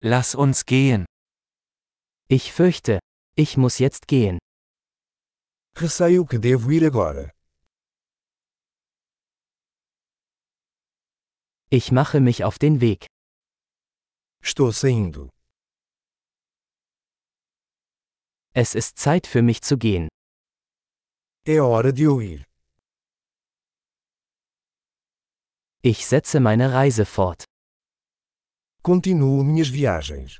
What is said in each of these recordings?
Lass uns gehen. Ich fürchte, ich muss jetzt gehen. Receio que devo ir agora. Ich mache mich auf den Weg. Estou saindo. Es ist Zeit für mich zu gehen. É hora de eu ir. Ich setze meine Reise fort. Continuo minhas viagens.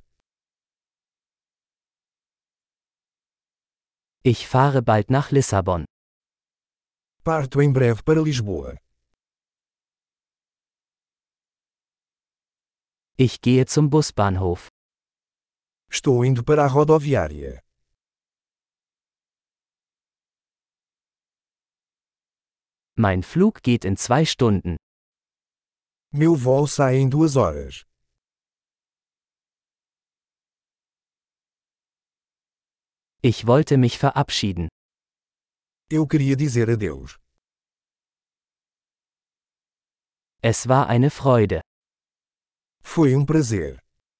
Ich fahre bald nach Lissabon. Parto em breve para Lisboa. Ich gehe zum Busbahnhof. Estou indo para a rodoviária. Mein Flug geht in 2 Stunden. Meu voo sai em 2 horas. Ich wollte mich verabschieden. Eu queria dizer adeus. Es war eine Freude. Foi prazer.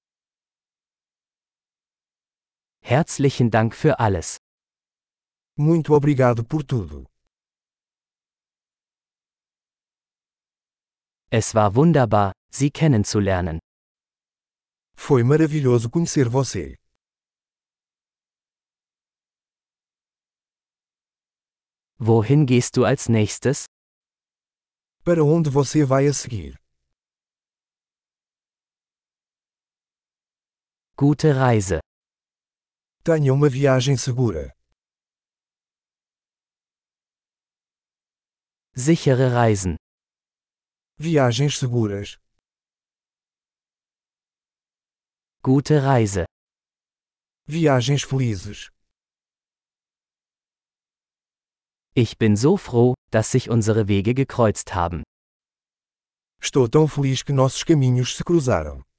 Herzlichen Dank für alles. Muito obrigado por tudo. Es war wunderbar, Sie kennenzulernen. Foi maravilhoso conhecer você. Wohin gehst du als nächstes? Para onde você vai a seguir? Gute Reise. Tenha uma viagem segura. Sichere Reisen. Viagens seguras. Gute Reise. Viagens felizes. Ich bin so froh, dass sich unsere Wege gekreuzt haben. Estou tão feliz que nossos caminhos se cruzaram.